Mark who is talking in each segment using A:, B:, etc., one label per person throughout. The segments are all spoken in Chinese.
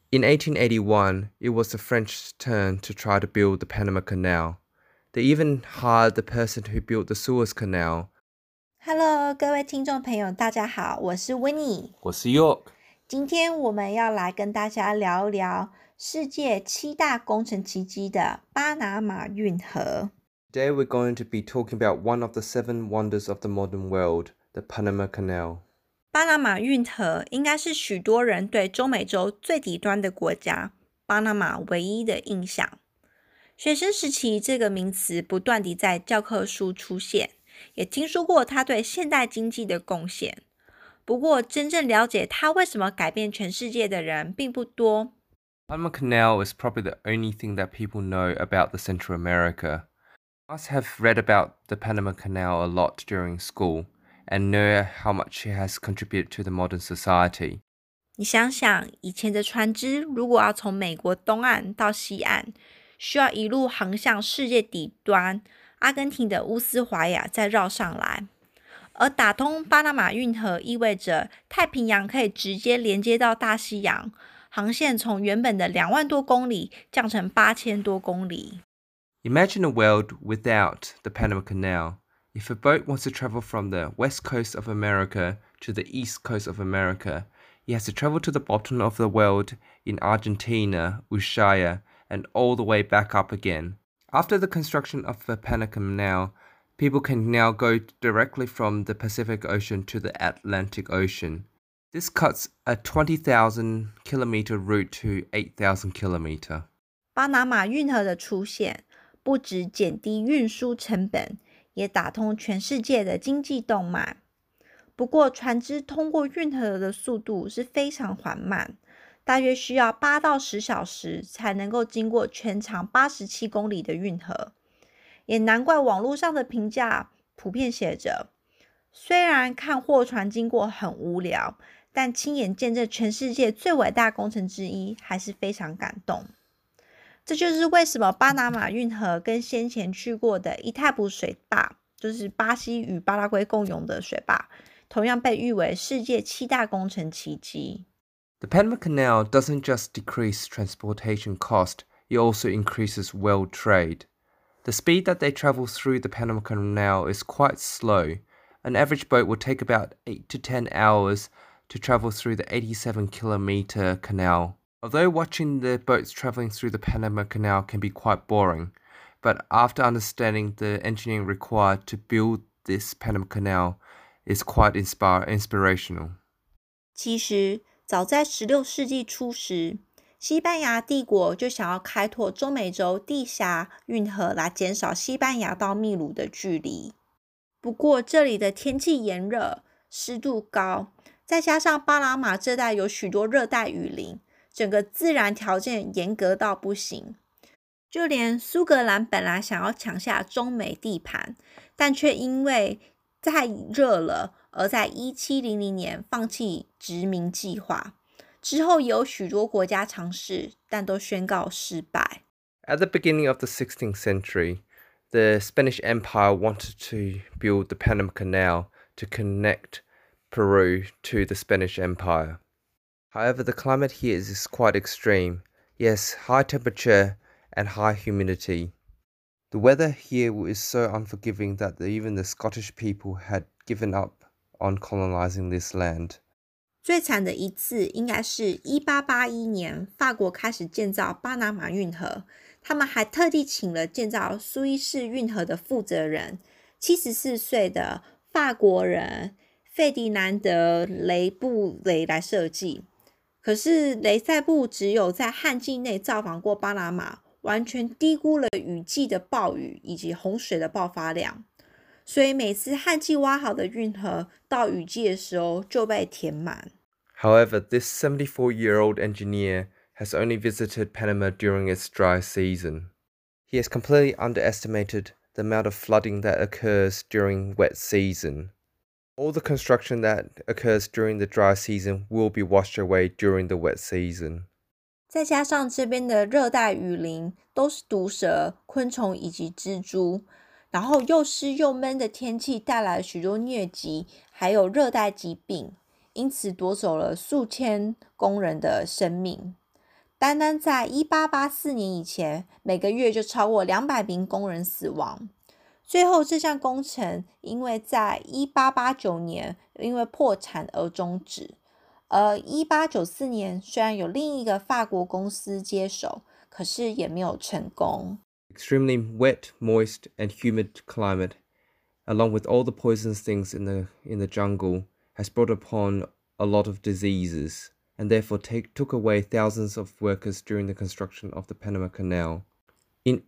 A: In 1881, it was the French turn to try to build the Panama Canal. They even hired the person who built the Suez Canal.
B: Hello，各位听众朋友，大家好，我是 Winnie，
A: 我是 York。
B: 今天我们要来跟大家聊一聊世界7大工程奇迹的巴拿马运河。
A: Today we're going to be talking about one of the 7 wonders of the modern world, the Panama Canal.
B: 巴拿马运河应该是许多人对中美洲最底端的国家巴拿马唯一的印象。学生时期这个名词不断地在教科书出现，也听说过它对现代经济的贡献。不过真正了解它为什么改变全世界的人并不多。
A: Panama Canal is probably the only thing that people know about the Central America. You must have read about the Panama Canal a lot during school and know how much it has contributed to the modern society.
B: 你想想，以前的船只如果要从美国东岸到西岸，需要一路航向世界底端阿根廷的乌斯怀亚，再绕上来。而打通巴拿马运河意味着太平洋可以直接连接到大西洋，航线从原本的2万多公里降成8000多公里。
A: Imagine a world without the Panama Canal. If a boat wants to travel from the west coast of America to the east coast of America, it has to travel to the bottom of the world in Argentina, Ushuaia, and all the way back up again. After the construction of the Panama Canal, people can now go directly from the Pacific Ocean to the Atlantic Ocean. This cuts a 20,000 kilometer route to 8,000 kilometer.
B: 巴拿马运河的出现，不只减低运输成本，也打通全世界的经济动脉。不过，船只通过运河的速度是非常缓慢，大约需要8到10小时才能够经过全长87公里的运河。也难怪网络上的评价普遍写着，虽然看货船经过很无聊，但亲眼见证全世界最伟大工程之一，还是非常感动。这就是为什么巴拿马运河跟先前去过的伊泰普水坝，就是巴西与巴拉圭共用的水坝，同样被誉为世界7大工程奇迹。
A: The Panama Canal doesn't just decrease transportation cost, it also increases world trade. The speed that they travel through the Panama Canal is quite slow. An average boat will take about 8 to 10 hours to travel through the 87-kilometer canal. Although watching the boats traveling through the Panama Canal can be quite boring, but after understanding the engineering required to build this Panama Canal is quite inspirational.
B: 其实，早在16世纪初时，西班牙帝国就想要开拓中美洲地峡运河来减少西班牙到秘鲁的距离。不过这里的天气炎热，湿度高，再加上巴拿马这带有许多热带雨林，整个自然条件严格到不行。就连苏格兰本来想要抢下中美地盘，但却因为太热了，而在1700年放弃殖民计划。之后也有许多国家尝试，但都宣告失败。
A: At the beginning of the 16th century, the Spanish Empire wanted to build the Panama Canal to connect Peru to the Spanish Empire. However, the climate here is quite extreme. Yes, high temperature and high humidity. The weather here is so unforgiving that even the Scottish people had given up on colonizing this land.
B: 最惨的一次应该是1881年，法国开始建造巴拿马运河，他们还特地请了建造苏伊士运河的负责人，74岁的法国人费迪南德·雷布雷来设计。可是雷塞布只有在旱季内造访过巴拿马，完全低估了雨季的暴雨以及洪水的爆发量，所以每次旱季挖好的运河到雨季的时候就被填满。
A: However, this 74-year-old engineer has only visited Panama during its dry season. He has completely underestimated the amount of flooding that occurs during wet season. All the construction that occurs during the dry season will be washed away during the wet season.
B: 再加上这边的热带雨林都是毒蛇、昆虫以及蜘蛛，然后又湿又闷的天气带来许多疟疾，还有热带疾病，因此夺走了数千工人的生命。 单单在1884年以前，每个月就超过200名工人死亡。最后这项工程因为在1889年因为破产而终止。而1894年虽然有另一个法国公司接手，可是也没有成功。
A: Extremely wet, moist, and humid climate, along with all the poisonous things in the jungle, has brought upon a lot of diseases, and therefore took away thousands of workers during the construction of the Panama Canal. In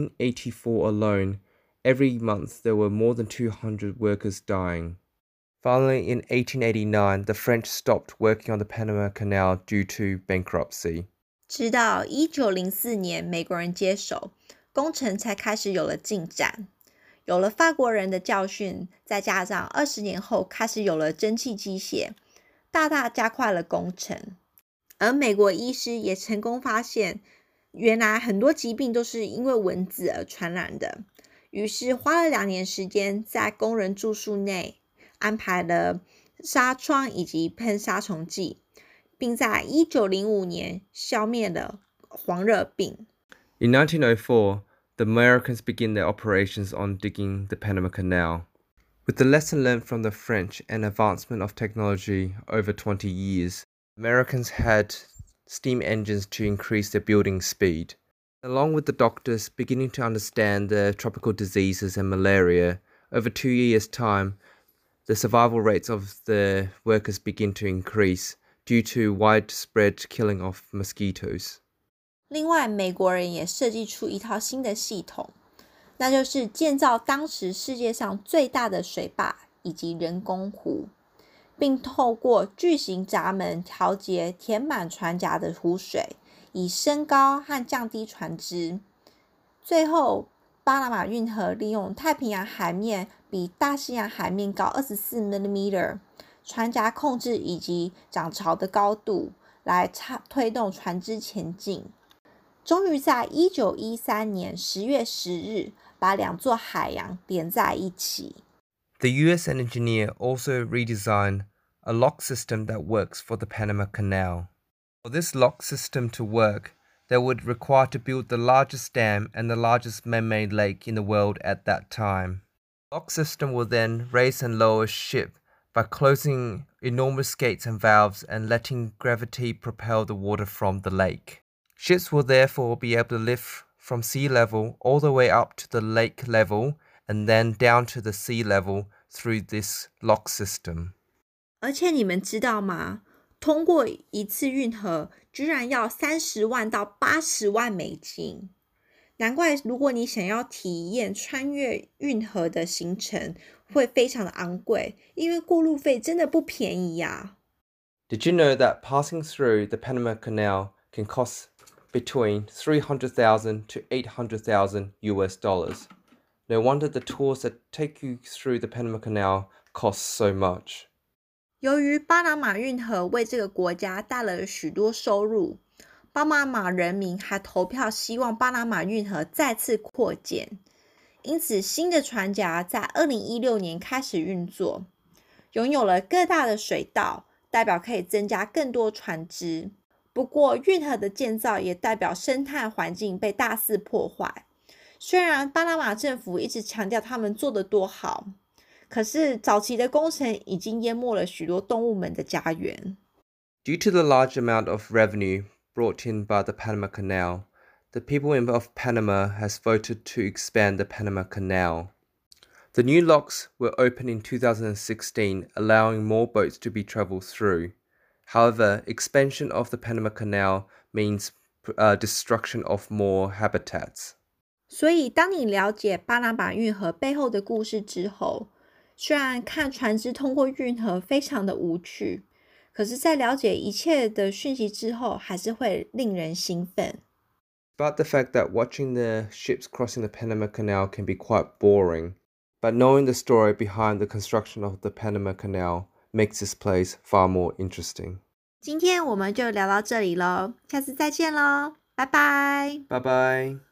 A: 1884 alone, every month there were more than 200 workers dying. Finally, in 1889, the French stopped working on the Panama Canal due to bankruptcy.
B: 直到1904年美国人接手，工程才开始有了进展。有了法国人的教训，再加上20年后开始有了蒸汽机械，大大加快了工程。而美国医师也成功发现，原来很多疾病都是因为蚊子而传染的。于是花了2年时间，在工人住宿内安排了纱窗以及喷杀虫剂，并在1905年消灭了黄热病。
A: In 1904, the Americans begin their operations on digging the Panama Canal. With the lesson learned from the French and advancement of technology over 20 years, Americans had steam engines to increase their building speed. Along with the doctors beginning to understand the tropical diseases and malaria, over 2 years' time, the survival rates of the workers begin to increase due to widespread killing of mosquitoes.
B: 另外，美国人也设计出一套新的系统，那就是建造当时世界上最大的水坝以及人工湖，并透过巨型闸门调节填满船闸的湖水，以升高和降低船只。最后，巴拿马运河利用太平洋海面比大西洋海面高24mm， 船闸控制以及涨潮的高度来推动船只前进。终于在1913年10月10日把2座海洋连在一起。
A: The US engineer also redesigned a lock system that works for the Panama Canal. For this lock system to work, they would require to build the largest dam and the largest man-made lake in the world at that time. The lock system will then raise and lower a ship by closing enormous gates and valves and letting gravity propel the water from the lake. Ships will therefore be able to lift from sea level all the way up to the lake level and then down to the sea level through this lock system.
B: 而且你们知道吗？通过一次运河居然要30万到80万美金。难怪如果你想要体验穿越运河的行程会非常的昂贵，因为过路费真的不便宜呀。
A: Did you know that passing through the Panama Canal can cost between $300,000 to $800,000 US? No wonder the tours that take you through the Panama Canal cost so much.
B: 由于巴拿马运河为这个国家带来了许多收入，巴拿马人民还投票希望巴拿马运河再次扩建，因此新的船闸在2016年开始运作，拥有了更大的水道，代表可以增加更多船只。不过运河的建造也代表生态环境被大肆破坏。虽然巴拿马政府一直强调他们做得多好，可是早期的工程已经淹没了许多动物们的家园。
A: Due to the large amount of revenue brought in by the Panama Canal, the people of Panama has voted to expand the Panama Canal. The new locks were opened in 2016, allowing more boats to be traveled through. However, expansion of the Panama Canal means destruction of more habitats.
B: 所以当你了解巴拿马运河背后的故事之后，虽然看船只通过运河非常的无趣，可是在了解一切的讯息之后，还是会令人兴奋。
A: But the fact that watching the ships crossing the Panama Canal can be quite boring, but knowing the story behind the construction of the Panama Canal makes this place far more interesting.
B: 今天我们就聊到这里咯，下次再见咯，拜拜。
A: Bye bye.